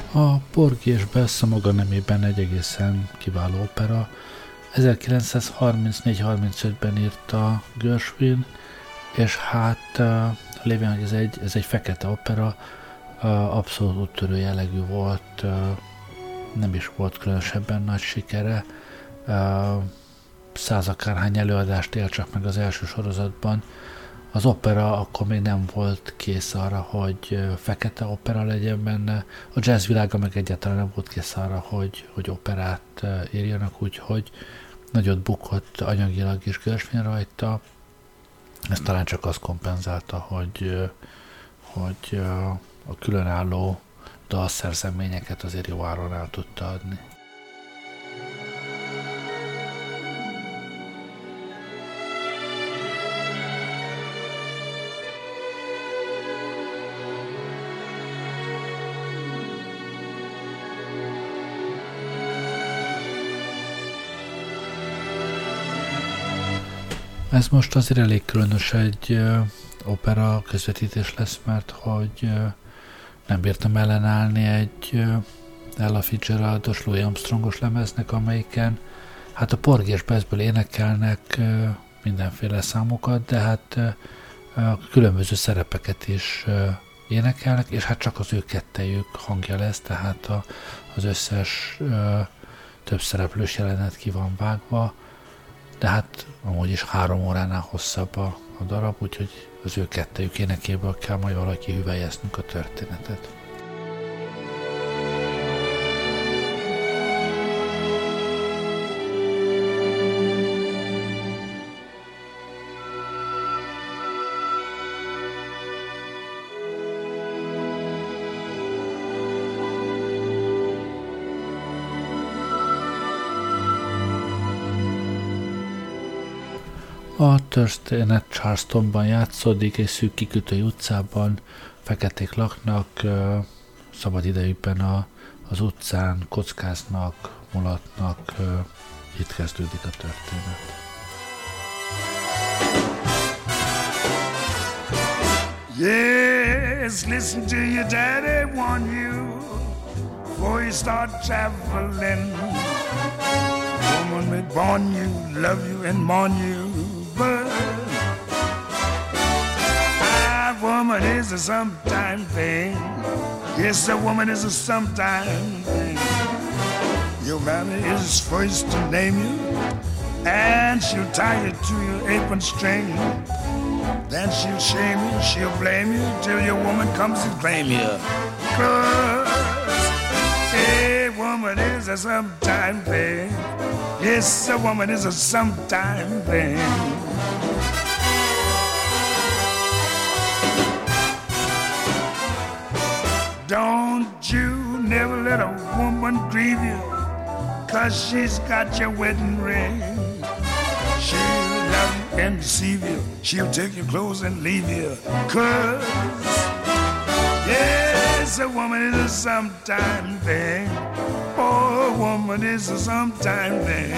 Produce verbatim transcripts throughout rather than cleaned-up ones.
A Porgy és Bess a maga nemében egy egészen kiváló opera. ezerkilencszázharmincnégy-harmincötben írta Gershwin, és hát lévén, hogy ez egy, ez egy fekete opera, abszolút úttörő jellegű volt, nem is volt különösebben nagy sikere. Százakárhány előadást élt csak meg az első sorozatban. Az opera akkor még nem volt kész arra, hogy fekete opera legyen benne. A jazz világa meg egyáltalán nem volt kész arra, hogy, hogy operát írjanak, úgyhogy nagyot bukott anyagilag is Gershwin rajta. Ez talán csak azt kompenzálta, hogy, hogy a különálló dalszerzeményeket azért jó áron el tudta adni. Ez most azért elég különös egy uh, opera közvetítés lesz, mert hogy uh, nem bírtam ellenállni egy uh, Ella Fitzgeraldos, Louis Armstrongos lemeznek, amelyiken hát a Porgy és Bessből énekelnek uh, mindenféle számokat, de hát uh, uh, különböző szerepeket is uh, énekelnek, és hát csak az ő kettejük hangja lesz, tehát a, az összes uh, több szereplős jelenet ki van vágva, de hát amúgy is három óránál hosszabb a, a darab, úgyhogy az ő kettejük énekéből kell majd valaki hüvelyeznünk a történetet. A történet Charlestonban játszódik, egy szűk kikötői utcában, feketék laknak, szabad idejükben a, az utcán kockáznak, mulatnak, itt kezdődik a történet. Yes, listen to your daddy warn you before you start traveling. Woman may born you, love you and mourn you, but a woman is a sometime thing. Yes, a woman is a sometime thing. Your mammy is first to name you, and she'll tie you to your apron string. Then she'll shame you, she'll blame you, till your woman comes and claim you. 'Cause a woman is a sometime thing. Yes, a woman is a sometime thing. Don't you never let a woman grieve you, 'cause she's got your wedding ring. She'll love you and deceive you, she'll take your clothes and leave you. 'Cause, yes, a woman is a sometime thing. Oh, a woman is a sometime thing.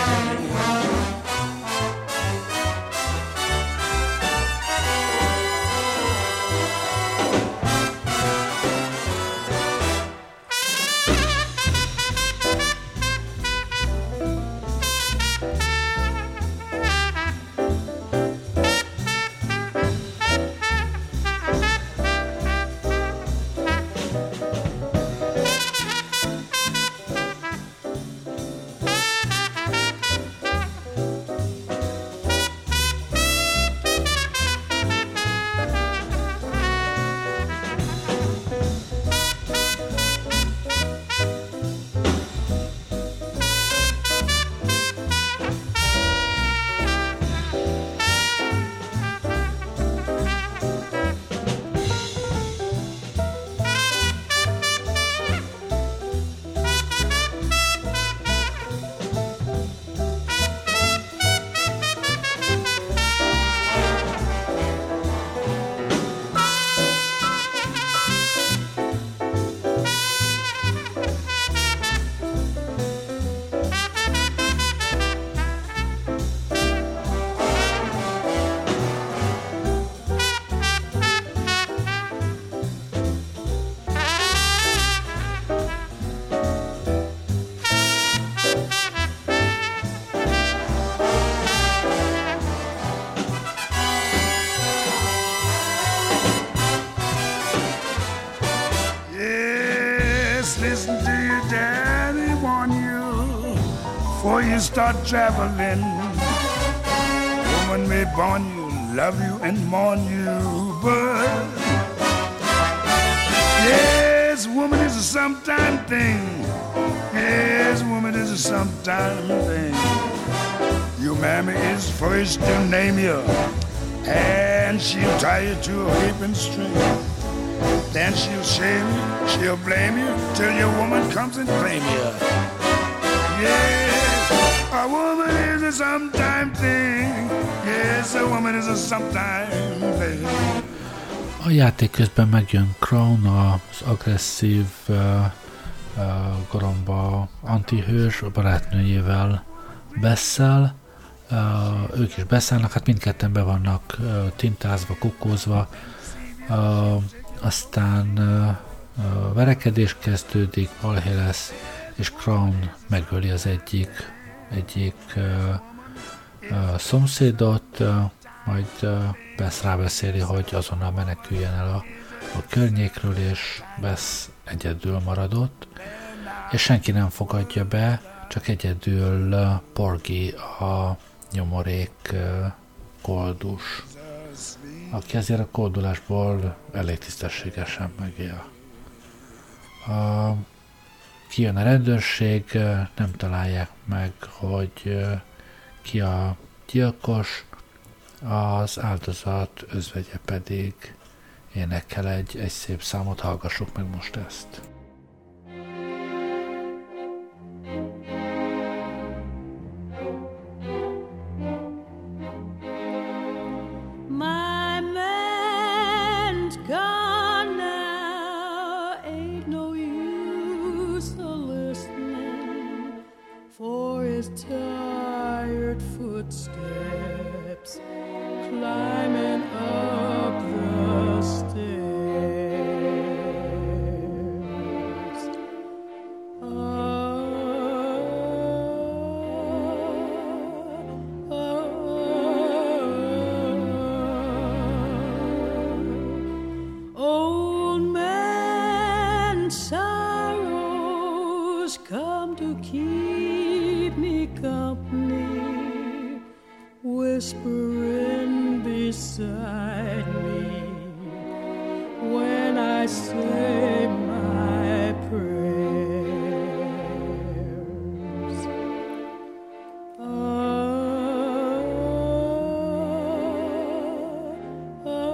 Just listen to your daddy warn you before you start traveling. Woman may born you, love you and mourn you, but yes, woman is a sometime thing. Yes, woman is a sometime thing. Your mammy is first to name you, and she'll tie you to a whipping string. Then she'll shame you, she'll blame you, till your woman comes and claim you. Yes, a woman is a sometime thing. Yes, a woman is a sometime thing. A játék közben megjön Crown, az agresszív uh, uh, goromba antihős, a barátnőjével beszél. Uh, ők is beszélnek, hát mindketten be vannak uh, tintázva, kukkózva. Uh, aztán uh, uh, verekedés kezdődik, balhé lesz, és Crown megöli az egyik, egyik uh, uh, szomszédot, uh, majd uh, Bess rábeszéli, hogy azonnal meneküljen el a, a környékről, és Bess egyedül maradott, és senki nem fogadja be, csak egyedül uh, Porgy, a nyomorék uh, koldus, aki azért a koldulásból elég tisztességesen megél. Uh, kijön a rendőrség, uh, nem találják meg, hogy uh, ki a gyilkos, az áldozat özvegye pedig énekel egy, egy szép számot, hallgassuk meg most ezt. Whispering beside me when I say my prayers. Ah, ah, ah.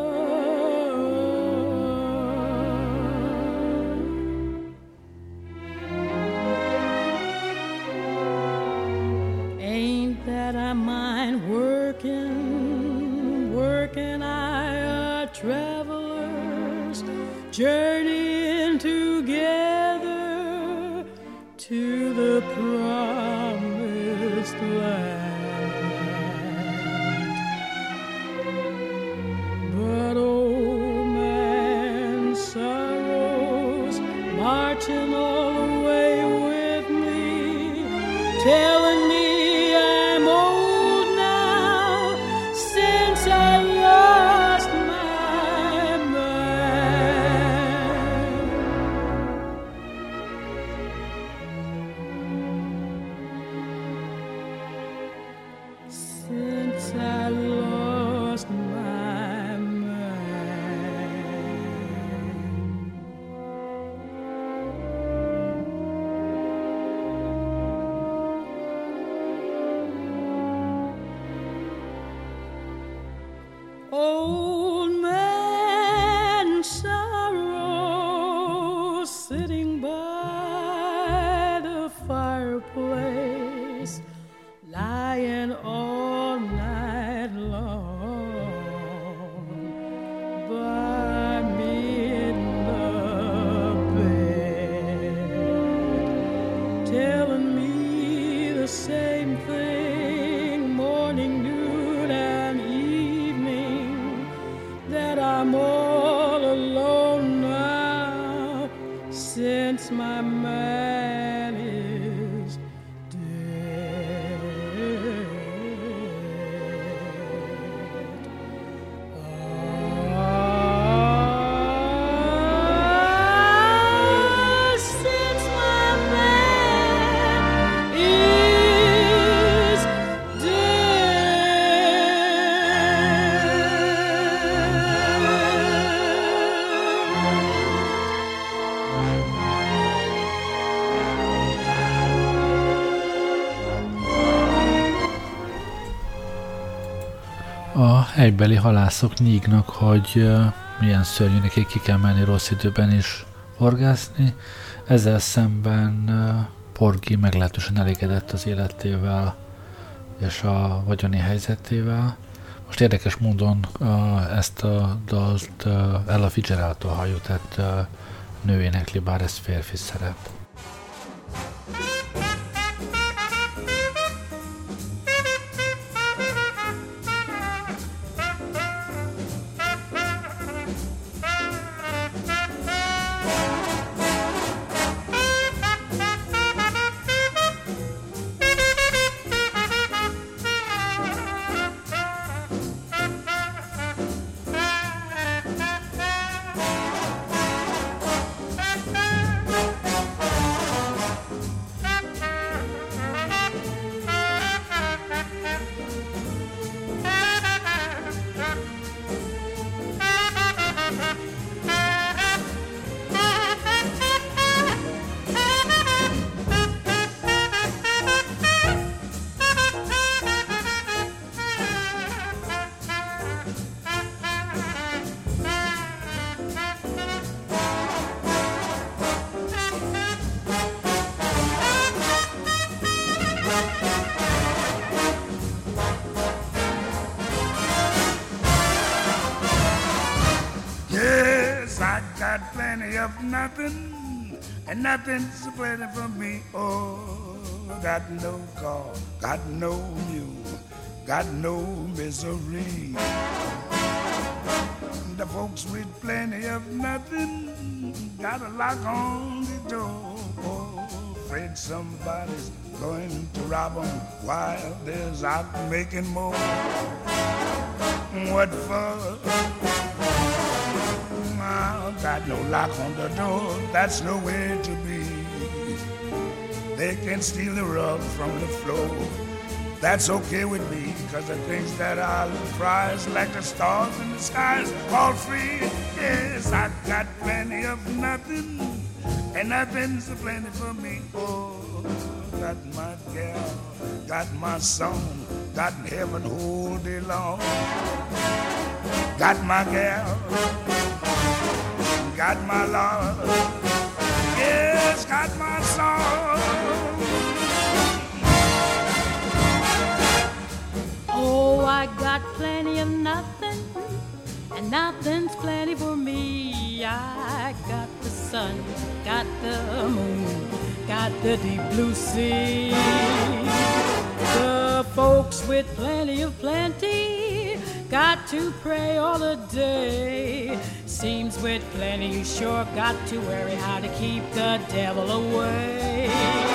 Ain't that I mind working, working, I are travelers, journeying together to the promised land. But old man sorrows marching all the way with me, telling me Old man sorrow sitting by the fireplace, lying all night long by me in the bed, telling me the same thing morning, noon, and evening, that I'm all alone now since my man is dead. Ah, helybeli halászok nyígnak, hogy milyen szörnyű nekik, ki kell menni rossz időben is horgászni. Ezzel szemben Porgy meglehetősen elégedett az életével és a vagyoni helyzetével. Most érdekes módon ezt a dalt Ella Fitzgeraldtól halljuk, tehát nő énekli, bár ez férfi szerep. And nothing's plenty for me. Oh, got no car, got no mule, got no misery. The folks with plenty of nothing got a lock on the door. Oh, afraid somebody's going to rob them while there's out making more. What for? Got no lock on the door, that's no way to be. They can steal the rug from the floor, that's okay with me, cause the things that I prize, like the stars in the skies, all free. Yes, I got plenty of nothing, and nothing's plenty for me. Oh, got my gal, got my song, got heaven all day long. Got my gal, got my love, yes, got my song. Oh, I got plenty of nothing, and nothing's plenty for me. I got the sun, got the moon, got the deep blue sea. The folks with plenty of plenty got to pray all the day. Seems with plenty you sure got to worry how to keep the devil away.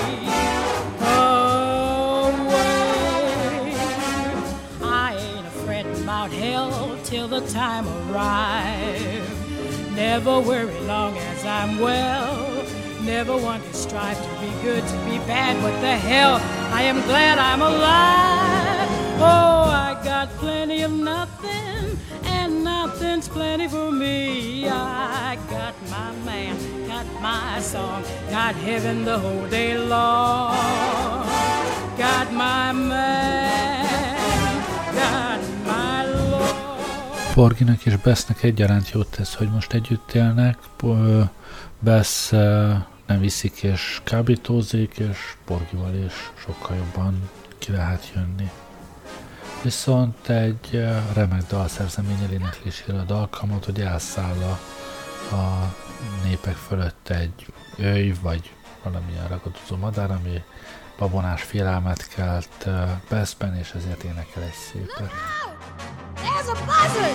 Away. I ain't afraid about hell till the time arrives. Never worry long as I'm well. Never want to strive to be good, to be bad. What the hell? I am glad I'm alive. Oh, I got plenty of nothing, and nothing's plenty for me. I got my man, got my song, got heaven the whole day long. Got my man, got my Lord. Porgynak és Bessnek egyaránt jót tesz, hogy most együtt élnek. Bess nem iszik és kábítózik, és Porgyval is sokkal jobban ki lehet jönni. Viszont egy remek dalszerzeményel énekléséről alkalmat, hogy elszáll a, a népek fölött egy őj, vagy valamilyen ragadozó madár, ami babonás félelmet kelt Bessben, és ezért énekel egy szépet. There's a buzzard!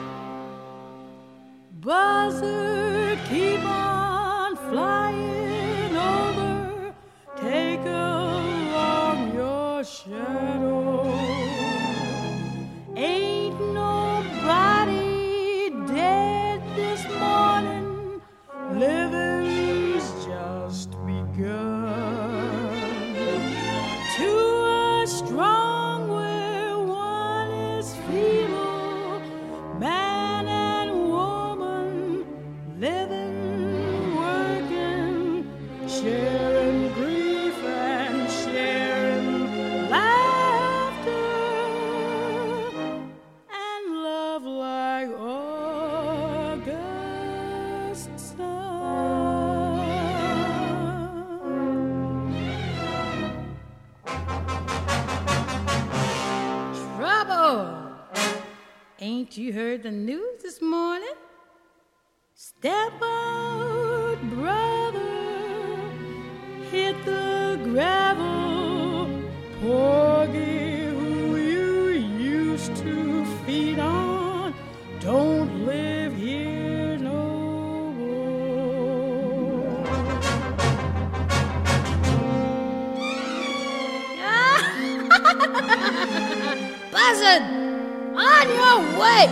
Buzzard, keep on flying over, take along your shadow. Ain't nobody dead this morning, living's just begun. To a strong where one is feeble, man and woman living Haven't you heard the news this morning? Step out, brother, hit the gravel. Porgy, who you used to feed on, don't live here no more. Buzzard, on your way.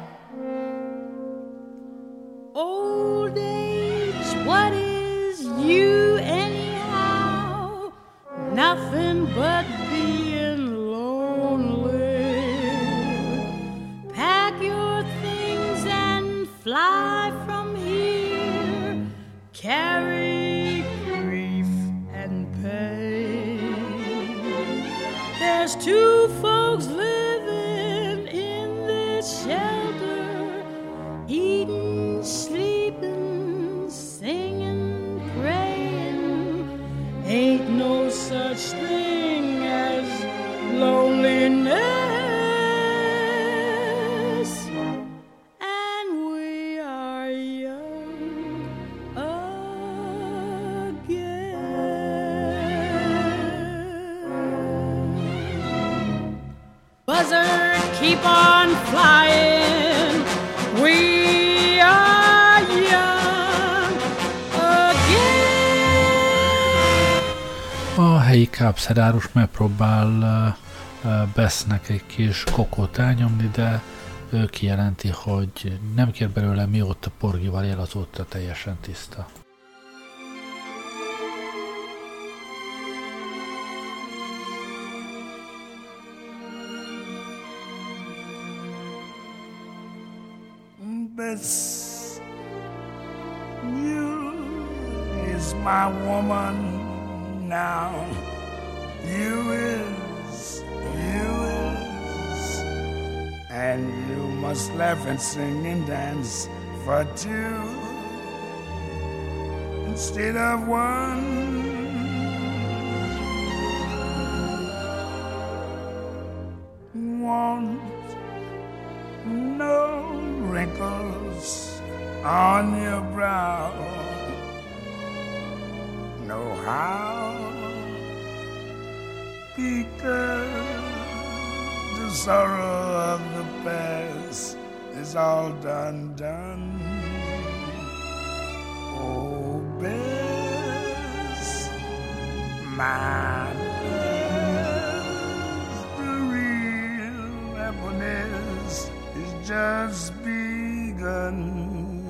Old age, what is you anyhow? Nothing but being lonely. Pack your things and fly from here. Carry grief and pain. There's two folks living in this shelter, eating, sleeping, singing, praying. Ain't no such thing as loneliness. And we are young again. Buzzard, keep on flying. We are young again. A helyi kápszedárus megpróbál Bessnek egy kis kokót elnyomni, de ő kijelenti, hogy nem kér belőle, mióta Porgyval él, azóta teljesen tiszta. Bess, you is my woman now. You is, you is, and you must laugh and sing and dance for two instead of one. Want no wrinkles on your brow. Know how, because the sorrow of the past is all done, done. Oh, Bess, my Bess, the real happiness is just begun.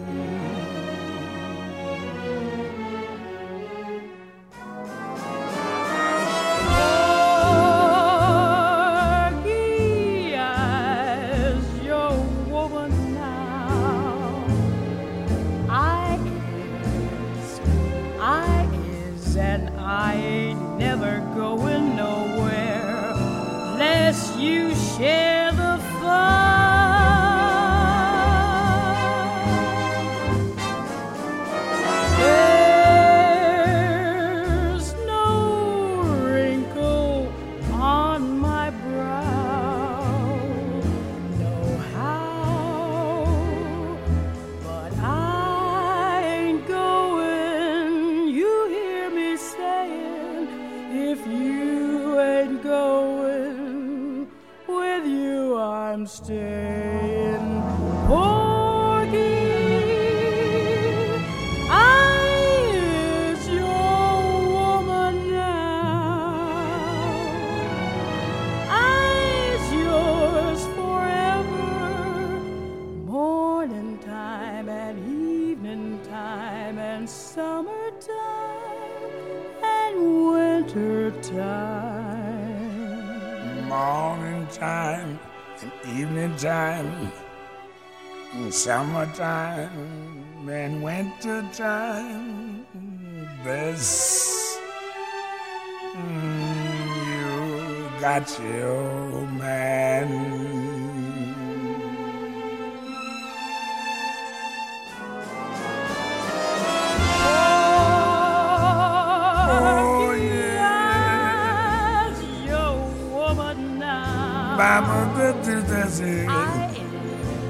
You share the fun. There's no wrinkle on my brow. Know how, but I ain't going. You hear me saying, if you ain't going, I'm staying. Porgy, I is your woman now. I is yours forever. Morning time and evening time and summertime and winter time. Morning time and evening time, and summertime and winter time. Bess, mm, you got your man. I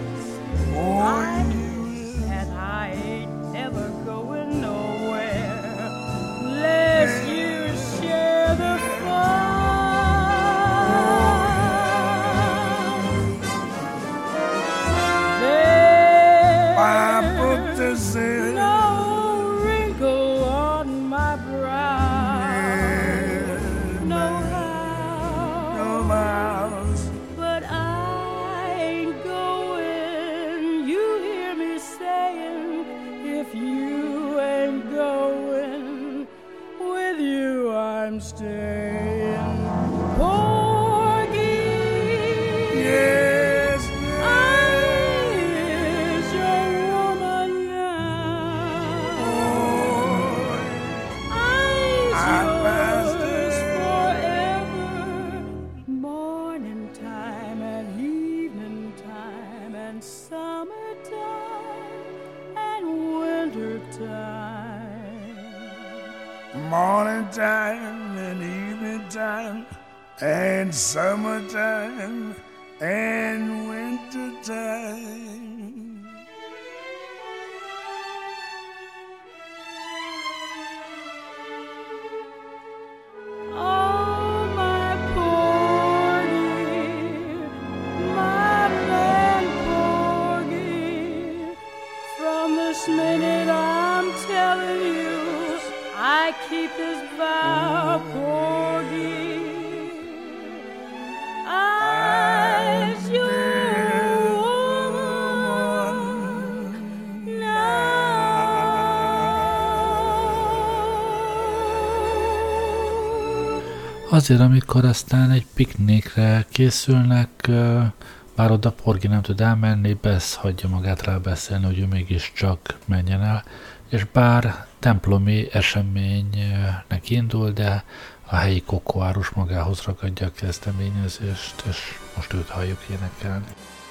I'm staying. Porgy, Yes, is your woman now. oh, I's I'm yours master. forever. Morning time and evening time and summertime and winter time. morning time and evening time and summertime and winter time. Oh, my porgy, my land porgy, from this minute I'm telling you, I keep this vow, porgy. I's your woman now. Azért, amikor aztán egy piknikre készülnek, ö, bár oda Porgy nem tud elmenni, Bess hagyja magát rábeszélni, hogy ő mégiscsak menjen el, és bár templomi eseménynek indul, de a helyi kokoárus magához ragadja a kezdeményezést, és most őt halljuk énekelni.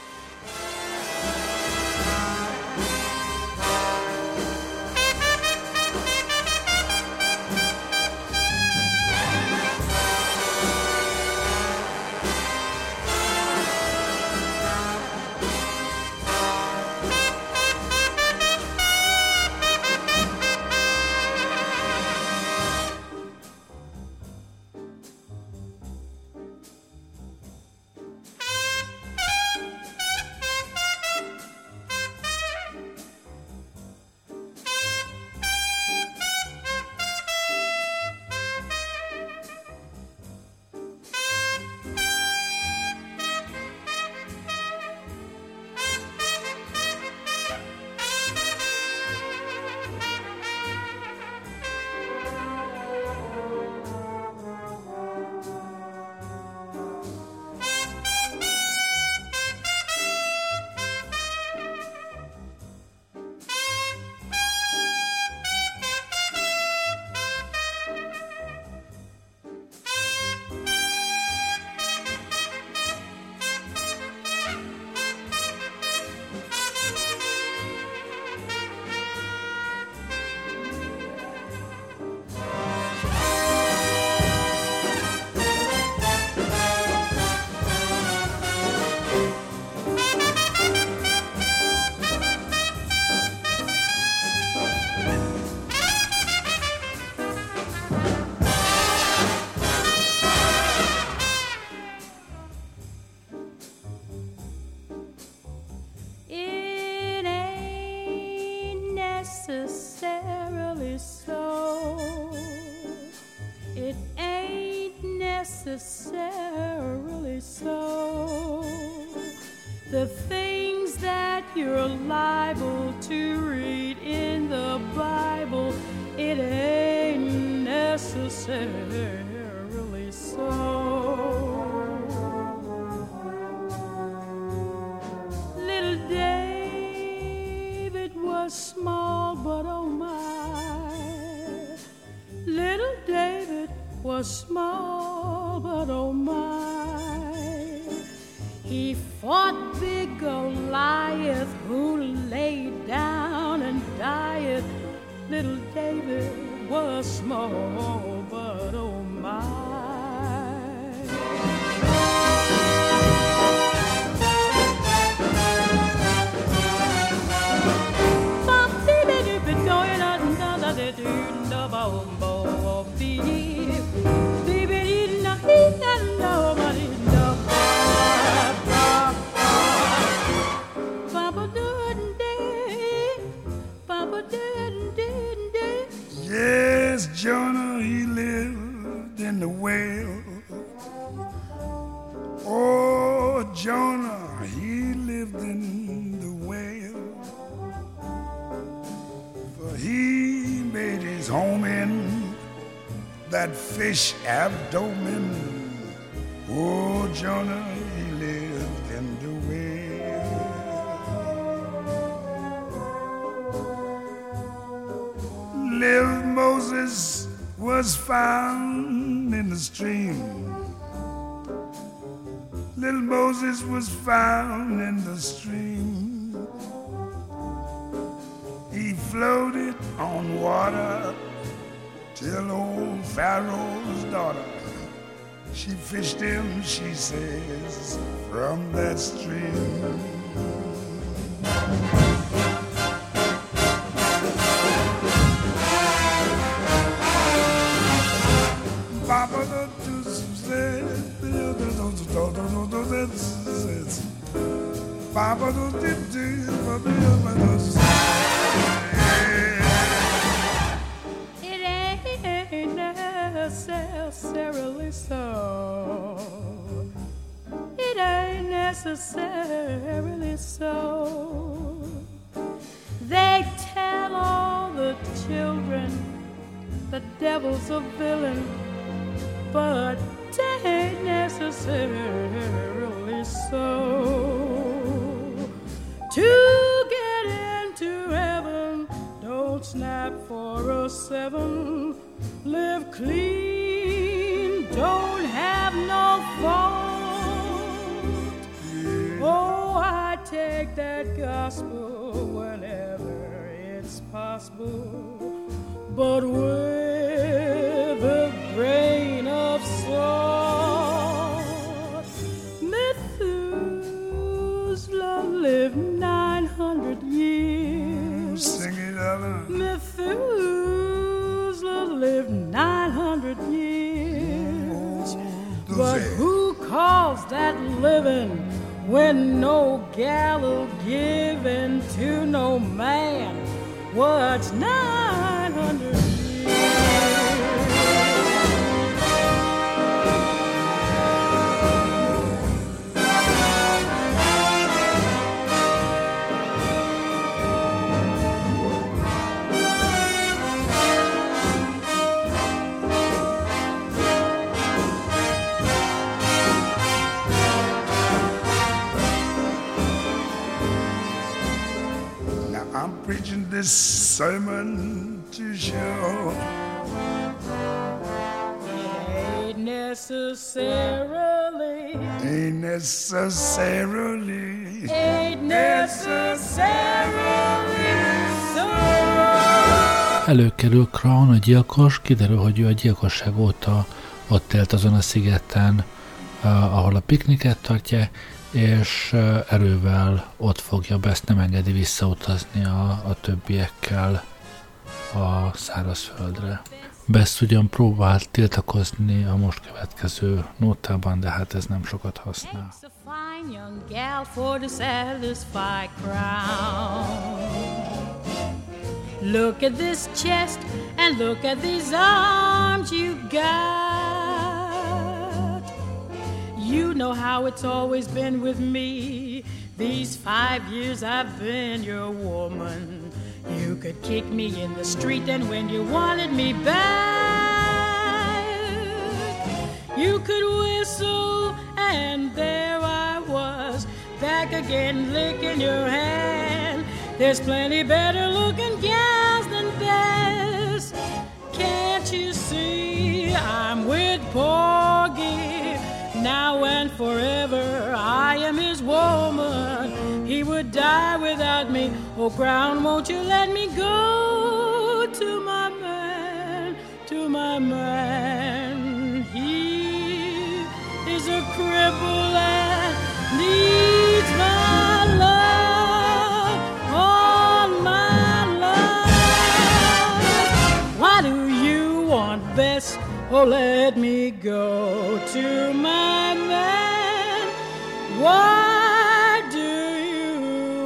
It ain't necessarily so. It ain't necessarily so. The things that you're liable to read in the Bible, it ain't necessarily so. Little David was small, but oh my. Little David was small, but oh my. He fought big Goliath, who lay down and died. Little David was small, but oh my. Yes, Jonah, he lived in the whale. Oh, Jonah, he lived in the whale. For he made his home in that fish abdomen. Oh, Jonah, he lived in the whale. Little Moses was found in the stream. Little Moses was found in the stream. He floated on water till old Pharaoh's daughter, she fished him, she says, from that stream. Papa Papa It ain't necessarily so. It ain't necessarily so. They tell all the children the devil's a villain, but it ain't necessarily so. To get into heaven, don't snap for a seven. Live clean, don't have no fault. Oh, I take that gospel whenever it's possible, but with a grain of salt. Methuselah lived nine hundred years. Sing it, Ella. Methuselah lived nine hundred years. Oh, but who calls that living when no gallow given to no man? What's nine hundred years? I'm preaching this sermon to show Ain't necessarily, ain't necessarily, ain't necessarily so. Előkerül Crown, a gyilkos, kiderül, hogy ő a gyilkosság óta ott élt azon a szigeten, ahol a pikniket tartja, és erővel ott fogja be, ezt nem engedi visszautazni a, a többiekkel a szárazföldre. Bess ugyan próbált tiltakozni a most következő nótában, de hát ez nem sokat használ. Look at this chest and look at these arms you got. You know how it's always been with me. These five years I've been your woman. You could kick me in the street, and when you wanted me back, you could whistle, and there I was, back again licking your hand. There's plenty better looking gals than Bess. Can't you see I'm with Porgy? Now and forever I am his woman. He would die without me. Oh, Crown, won't you let me go to my man, to my man. He is a cripple and needs my love, all my love. Why do you want Bess? Oh, let me go to my man. Why do you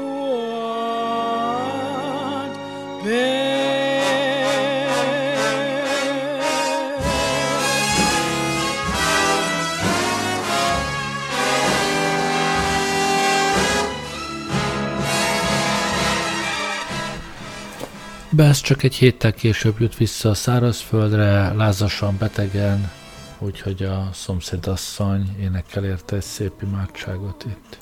want Bess? Bess csak egy héttel később jut vissza a szárazföldre, lázasan, betegen, úgyhogy a szomszédasszony énekel érte egy szép imádságot itt.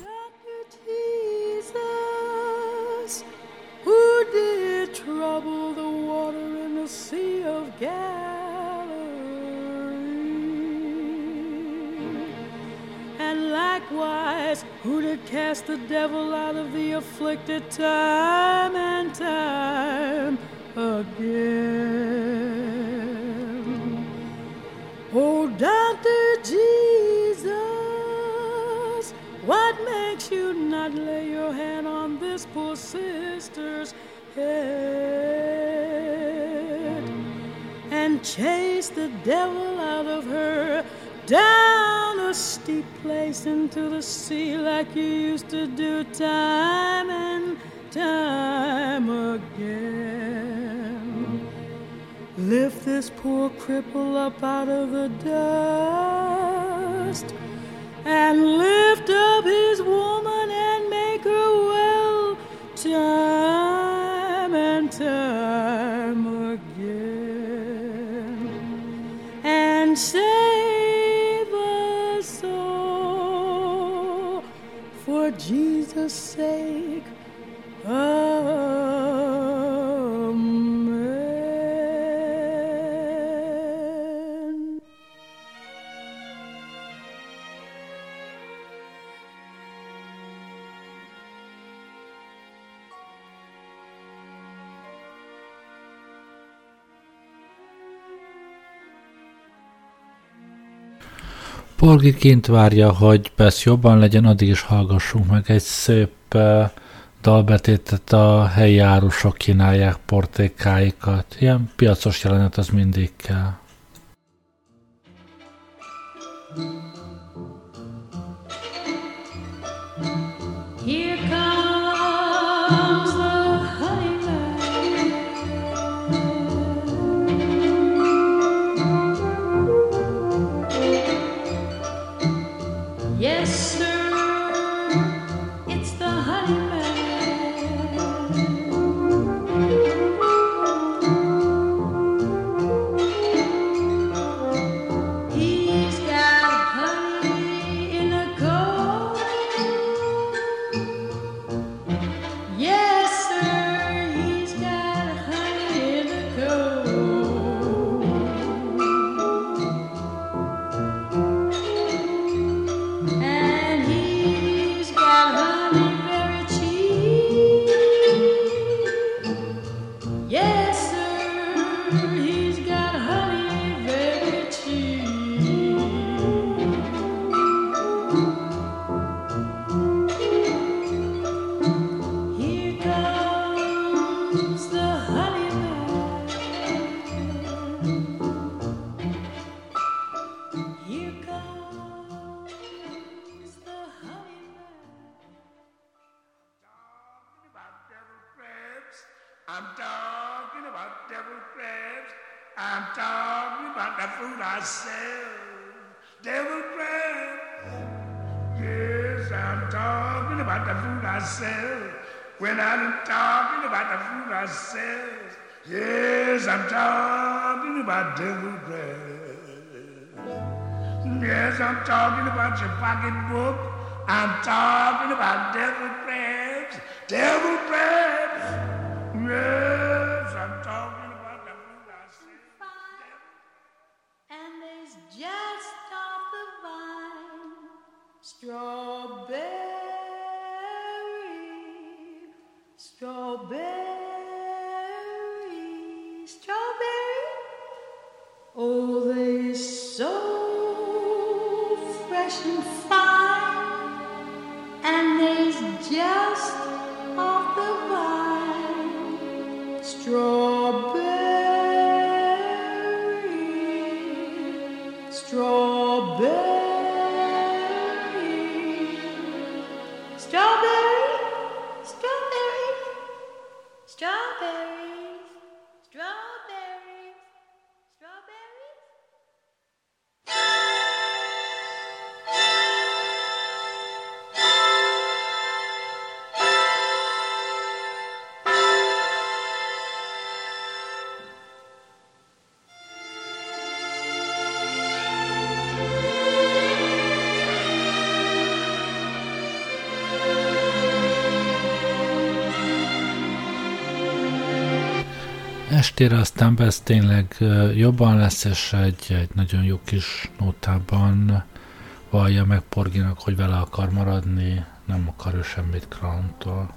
Trouble the water in the Sea of Galilee, and likewise who did cast the devil out of the afflicted time and time again. Oh, Doctor Jesus, what makes you not lay your hand on this poor sister's head and chase the devil out of her down a steep place into the sea like you used to do time and time again? Lift this poor cripple up out of the dust and lift up his woman and make her well time and time again, and save us all for Jesus' sake. Amen. Porgy kint várja, hogy Bess jobban legyen, addig is hallgassunk meg egy szép uh, dalbetétet, a helyi árusok kínálják portékáikat. Ilyen piacos jelenet az mindig kell. Here comes the honeyman. Yes, sir, it's the honeyman. He's got honey in a comb. Yes, sir, he's got honey in a comb. And he's got honey very cheap. Yes, sir, he's got honey very cheap. Here comes the honeyman. Here comes the honeyman. I'm talking about devil crabs. I'm talking about the food I sell. Devil crabs. Yes, I'm talking about the food I sell. When I'm talking about the food I sell. Yes, I'm talking about devil crabs. Yes, I'm talking about your pocketbook. I'm talking about devil crabs. Devil crabs. Yes, I'm talking about the food I sell. And there's just off the vine strawberry, strawberry, strawberry. Oh, they so fresh and fine, and there's just off the vine strawberry, strawberry, strawberry, strawberry, strawberries, strawberries, strawberries. estére aztán Bess tényleg jobban lesz, és egy, egy nagyon jó kis nótában vallja meg Porgynak, hogy vele akar maradni, nem akar ő semmit Crowntól.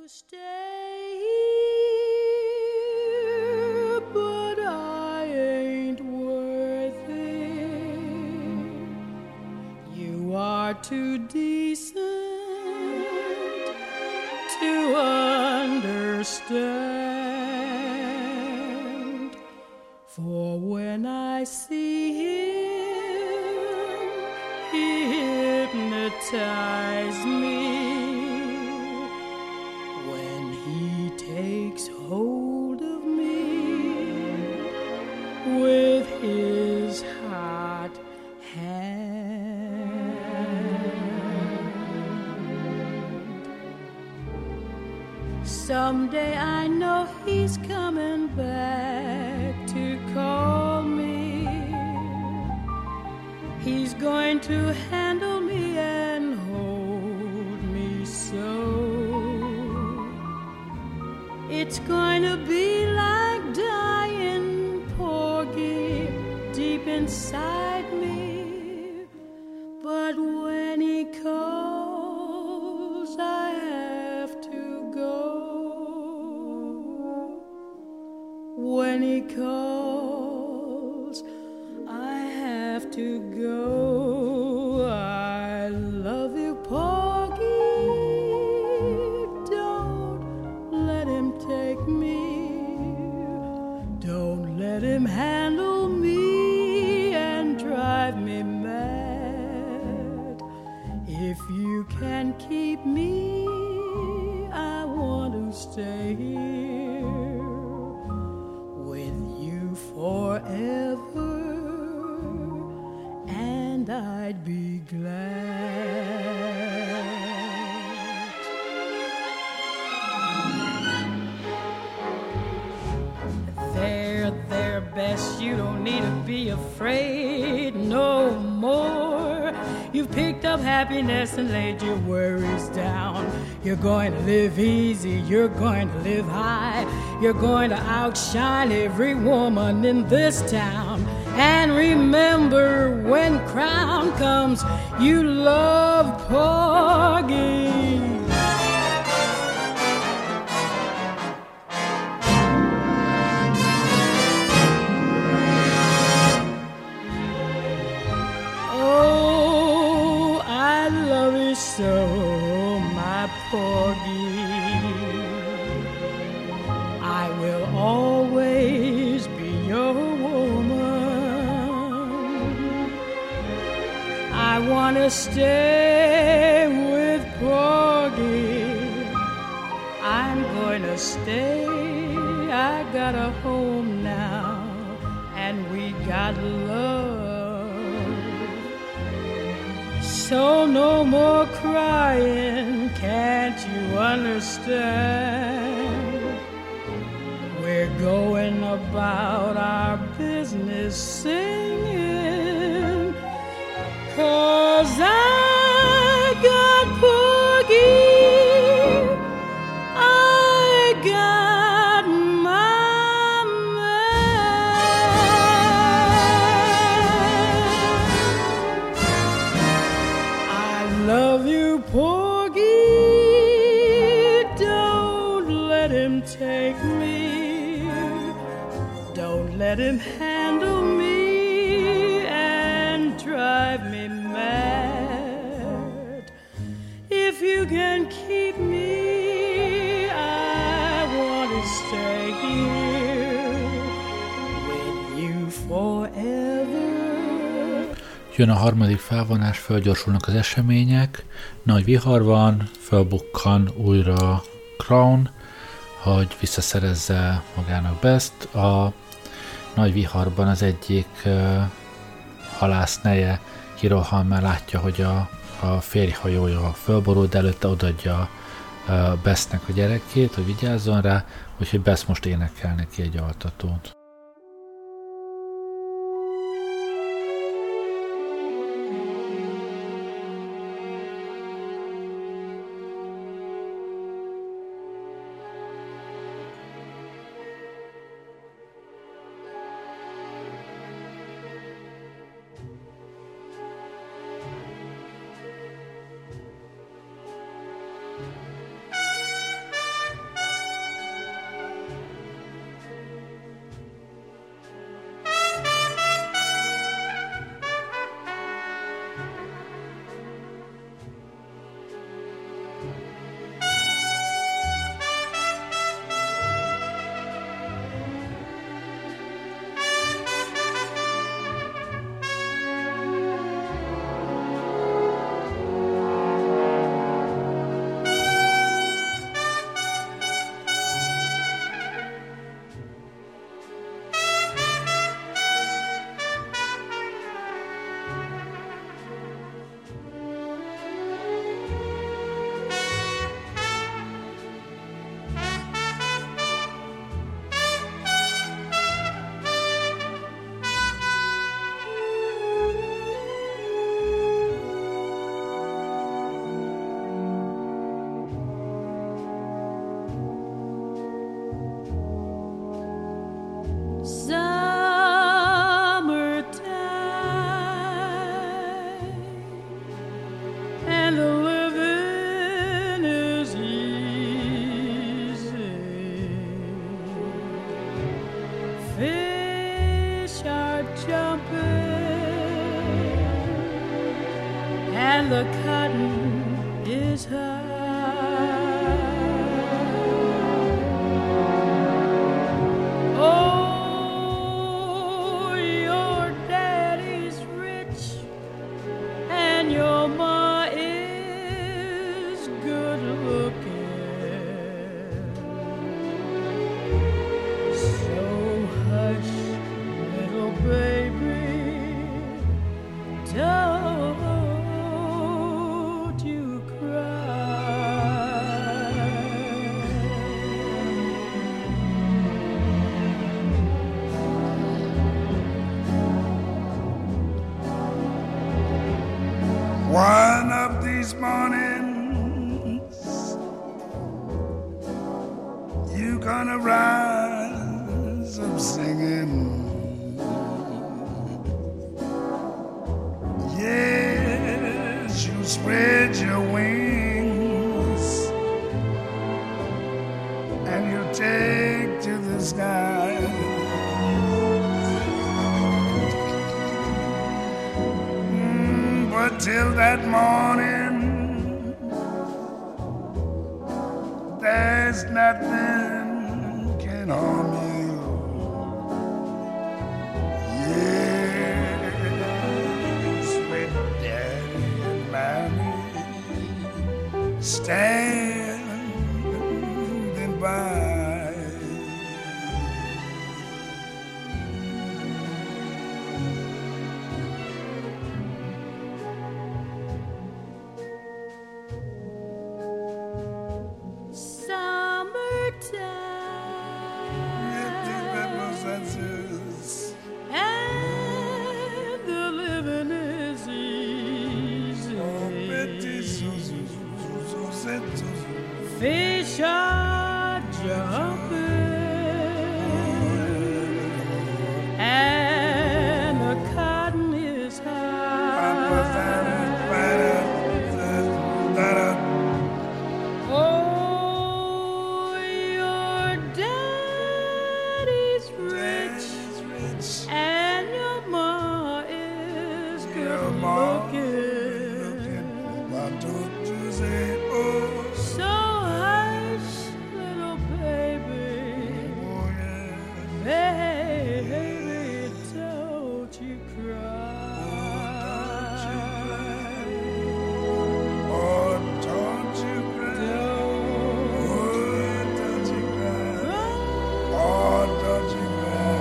Too decent to understand, for when I see him, he hypnotizes me. When he takes hold of me with his hot hand. Someday I know he's coming back to call me. He's going to handle me and hold me so. It's going to be like dying, Porgy, deep inside me. But when he calls, I have to go. When he calls, I have to go. I love you, Porgy. Don't let him take me. Don't let him handle me and drive me mad. If you can keep me, I want to stay here forever, and I'd be glad. There, there, Bess, you don't need to be afraid no more. You've picked up happiness and laid your worries down. You're going to live easy, you're going to live high. You're going to outshine every woman in this town. And remember, when crown comes, you love Porgy. Oh, I love you so, my Porgy. I will always be your woman. I want to stay with Porgy. I'm going to stay. I got a home now, and we got love. So no more crying, can't you understand? We're going about our business singing, 'cause I got Porgy, I got my man. I love you, Porgy, don't let him take me. Don't let him handle me and drive me mad. If you can keep me, I want to stay here with you forever. Jön a harmadik felvonás, fölgyorsulnak az események, nagy vihar van, fölbukkan újra Crown, hogy visszaszerezze magának Best. A nagy viharban az egyik uh, halászneje kirohan, mert látja, hogy a, a férjhajója fölborul, de előtte odaadja uh, Bestnek a gyerekét, hogy vigyázzon rá, úgyhogy Best most énekel neki egy altatót. jumping, and the cotton is high. Oh, your daddy's rich, and your ma is good looking. So hush, little baby, don't you cry. One of these mornings, you gonna rise up singing. Yes, you spread your wings and you take to the sky. Mm, but till that morning, there's nothing can harm you. Yes, with Daddy and Mommy standing by. And the living is easy. Fish are jumping, and the cotton is high. Oh, your daddy's rich, and your ma is good looking. Why don't you say, oh, So hush, little baby, oh yeah. baby, don't you cry. Oh, don't you cry. Don't Oh, don't you cry. cry. Oh, don't you cry.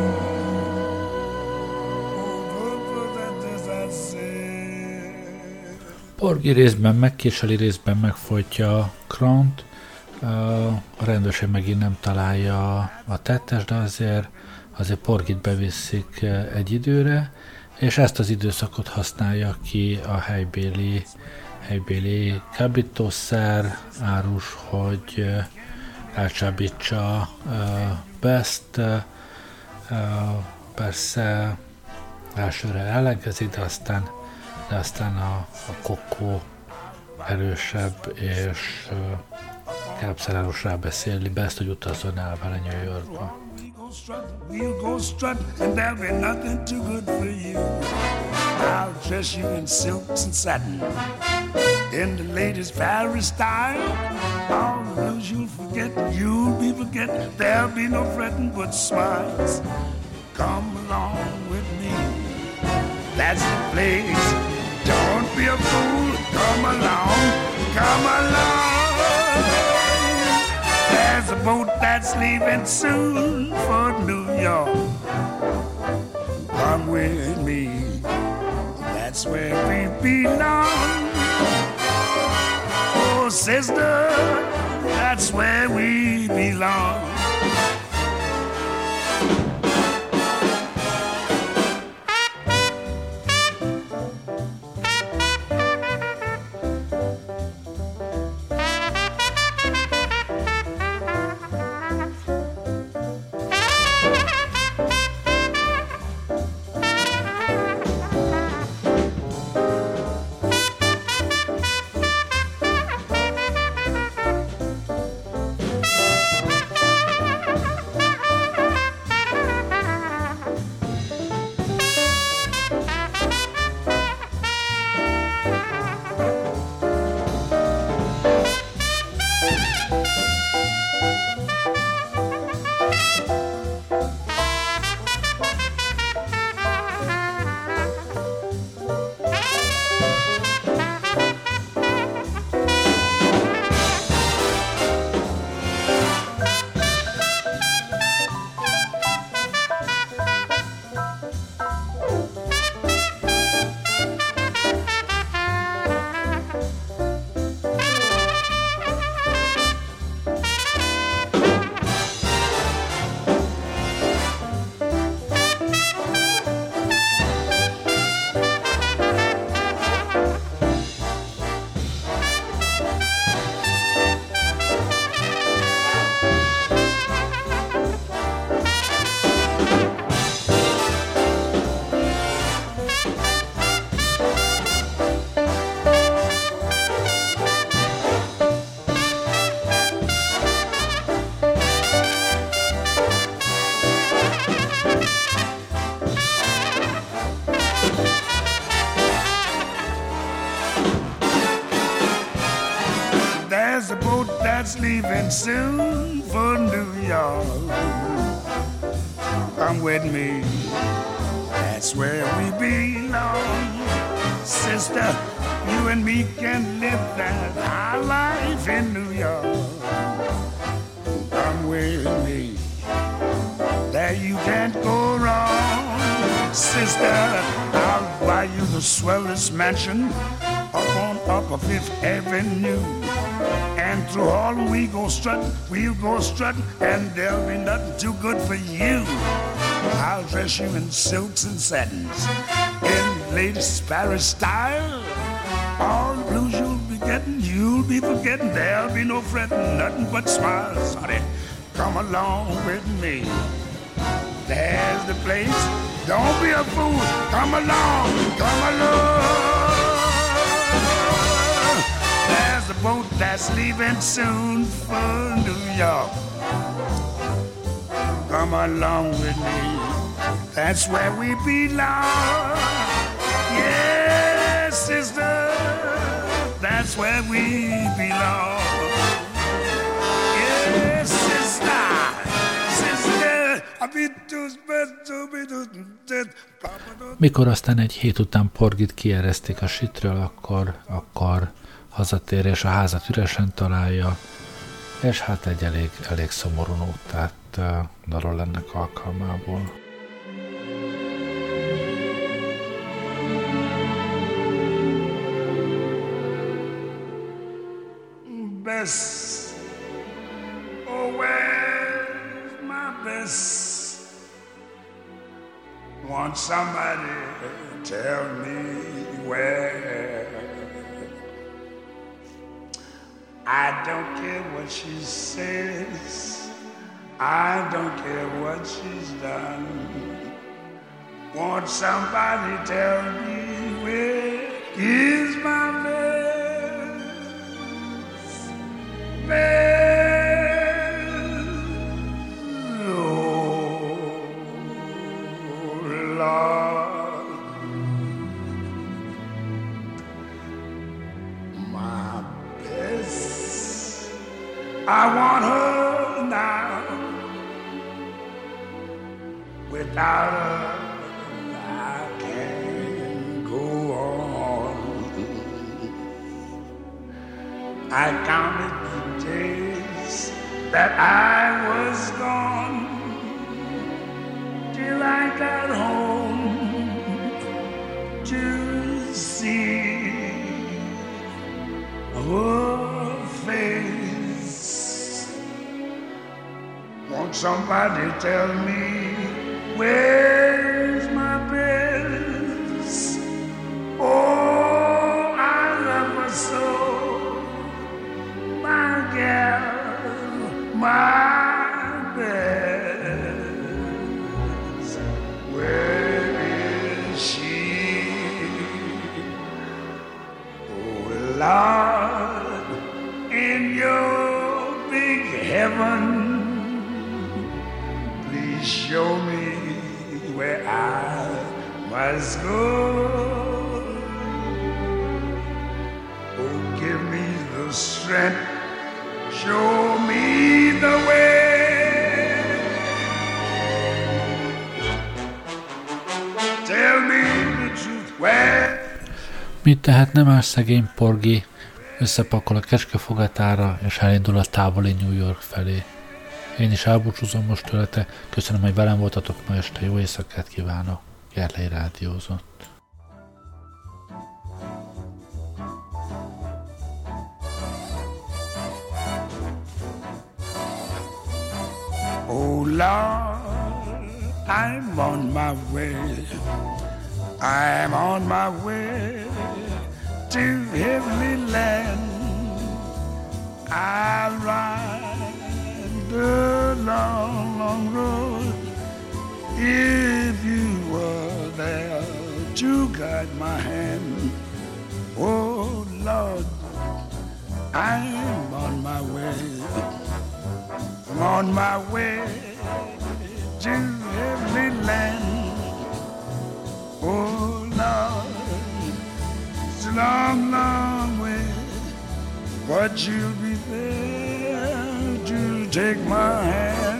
Oh, don't that as I say. Porgy részben megkéseli, részben megfojtja Kront. A rendőrség megint nem találja a tettes, de azért, azért Porgyt beviszik egy időre, és ezt az időszakot használja ki a helybéli, helybéli kábítószer árus, hogy elcsábítsa Best. Persze elsőre ellenkezik, de aztán, de aztán a, a kokó erősebb, és kábszerárus rábeszéli Best, hogy utazzon el vele New Yorkba. We'll go strut, and there'll be nothing too good for you. I'll dress you in silks and satin, in the latest Paris style. All the blues you'll forget, you'll be forget. There'll be no fretting but smiles. Come along with me, that's the place. Don't be a fool, come along, come along. There's a boat that's leaving soon for New York. Come with me, that's where we belong. Oh, sister, that's where we belong. that's leaving soon for New York. Come with me, that's where we belong. Sister, you and me can live that high life in New York. Come with me, there you can't go wrong. Sister, I'll buy you the swellest mansion up on Upper Fifth Avenue. And through all we go strutting, we'll go strutting, and there'll be nothing too good for you. I'll dress you in silks and satins, in latest Paris style. All the blues you'll be getting, you'll be forgetting. There'll be no fretting, nothing but smiles, honey. Come along with me. There's the place. Don't be a fool. Come along, come along. There's the boat that's leaving soon for New York. Come along with me. That's where we belong. Yes, sister. That's where we belong. Yes, sister. Sister. Mikor aztán egy hét után Porgyt kieresztik a sitről, akkor, akkor hazatér és a házat üresen találja, és hát egy elég, elég szomorú nótát uh, darol ennek alkalmából. Bess, oh where's my Bess? Want somebody to tell me where? I don't care what she says, I don't care what she's done. Want somebody to tell me where is my Bess? Bess, oh Lord, my Bess, I want her now. Without her, I can't go on. I counted the days that I was gone till I got home to see her face. Won't somebody tell me where's my Bess? Oh, I love her so, my gal, my Bess. Where is she? Oh, Lord, in your big heaven, show me where I must go. Oh, give me the strength, show me the way. Tell me the truth, where. Mit tehetne más szegény Porgy? Összepakol a kecskefogatára, és elindul a távoli New York felé. Én is elbúcsúzom most tőlete, köszönöm, hogy velem voltatok ma este, jó éjszakát kívánok, Gerlei rádiózott. Oh Lord, I'm on my way, I'm on my way to heavenly land. I'll ride the long, long road if you were there to guide my hand. Oh Lord, I'm on my way, I'm on my way to heavenly land. Oh Lord, it's a long, long way, but you'll be there take my hand.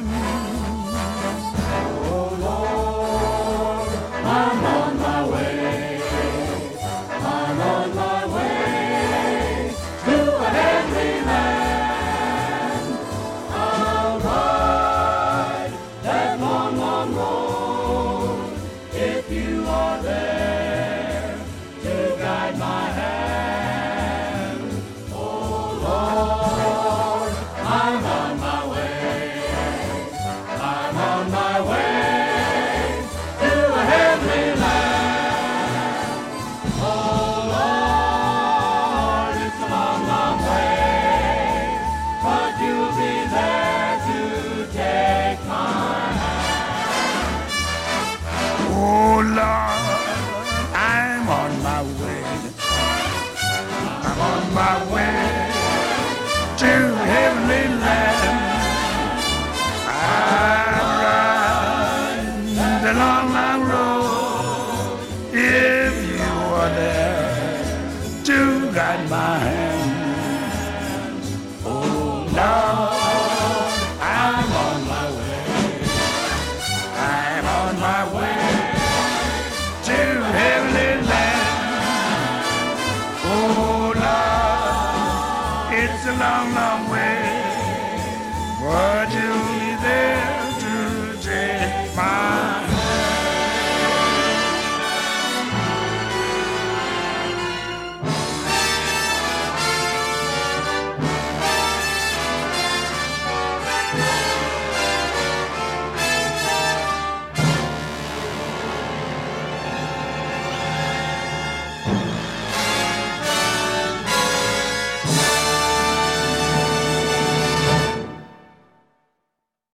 Oh Lord, I'm on my way. I'm on my way to a heavenly land. I'll ride that long, long road if you are there to guide my hand. Oh Lord, I'm on my way. I'm on my way to a heavenly land. Oh Lord, it's a long, long way, but you'll be there to take my hand. Oh Lord, I'm on my way. I'm on my way to heavenly land. I'm riding the long, long road if you are there to guide my hand. Oh Lord, I'm on my way. I'm on my way to heavenly land. Oh Lord, it's a long, long way, but you